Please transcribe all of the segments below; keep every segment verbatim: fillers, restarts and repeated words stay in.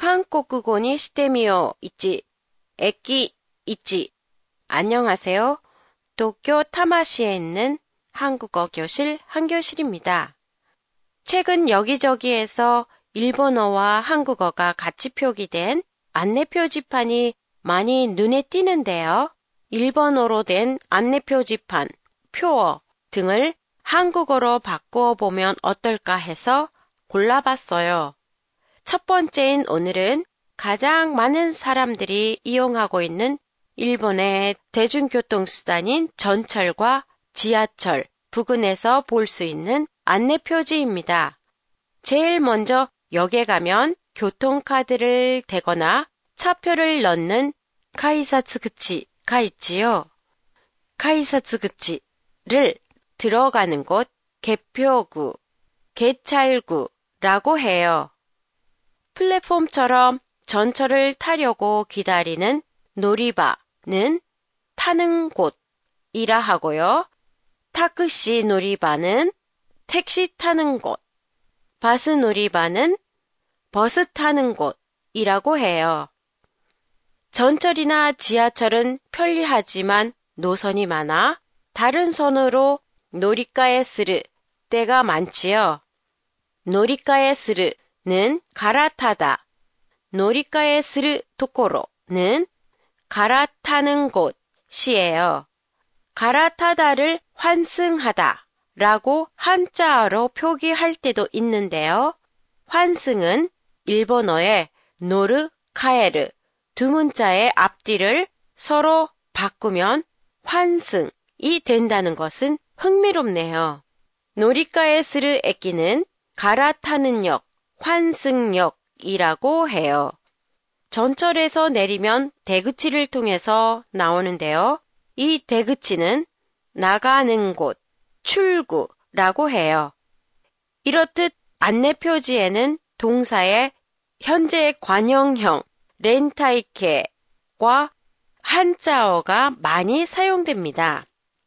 한국어にしてみよういち 駅일 안녕하세요. 도쿄 타마시에 있는 한국어 교실 한교실입니다. 최근 여기저기에서 일본어와 한국어가 같이 표기된 안내 표지판이 많이 눈에 띄는데요. 일본어로 된 안내 표지판, 표어 등을 한국어로 바꾸어 보면 어떨까 해서 골라봤어요. 첫 번째인 오늘은 가장 많은 사람들이 이용하고 있는 일본의 대중교통수단인 전철과 지하철 부근에서 볼 수 있는 안내 표지입니다. 제일 먼저 역에 가면 교통카드를 대거나 차표를 넣는 카이사츠구치가 있지요. 카이사츠구치를 들어가는 곳 개표구, 개찰구라고 해요. 플랫폼처럼 전철을 타려고 기다리는 놀이바는 타는 곳이라 하고요. 타크시 놀이바는 택시 타는 곳, 바스 놀이바는 버스 타는 곳이라고 해요. 전철이나 지하철은 편리하지만 노선이 많아 다른 선으로 놀이가에 쓰르 때가 많지요. 놀이가에 쓰르는 갈아타다, 놀이가에 쓰르 도코로는 갈아타는 곳이에요. 갈아타다를 환승하다 라고 한자어로 표기할 때도 있는데요. 환승은 일본어의 노르, 카에르 두 문자의 앞뒤를 서로 바꾸면 환승이 된다는 것은 흥미롭네요. 놀이가에 쓰르 에키는 갈아타는 역, 환승역이라고 해요. 전철에서 내리면 대구치를 통해서 나오는데요. 이 대구치는 나가는 곳, 출구라고 해요. 이렇듯 안내 표지에는 동사의 현재 관형형, 렌타이케와 한자어가 많이 사용됩니다.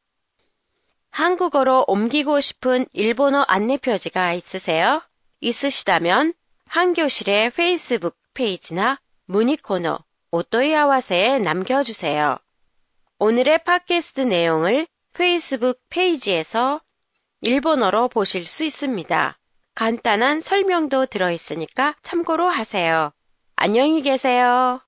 한국어로 옮기고 싶은 일본어 안내 표지가 있으세요? 있으시다면 한교실의 페이스북 페이지나 문의 코너 오토이아와세에 남겨주세요. 오늘의 팟캐스트 내용을 페이스북 페이지에서 일본어로 보실 수 있습니다. 간단한 설명도 들어있으니까 참고로 하세요. 안녕히 계세요.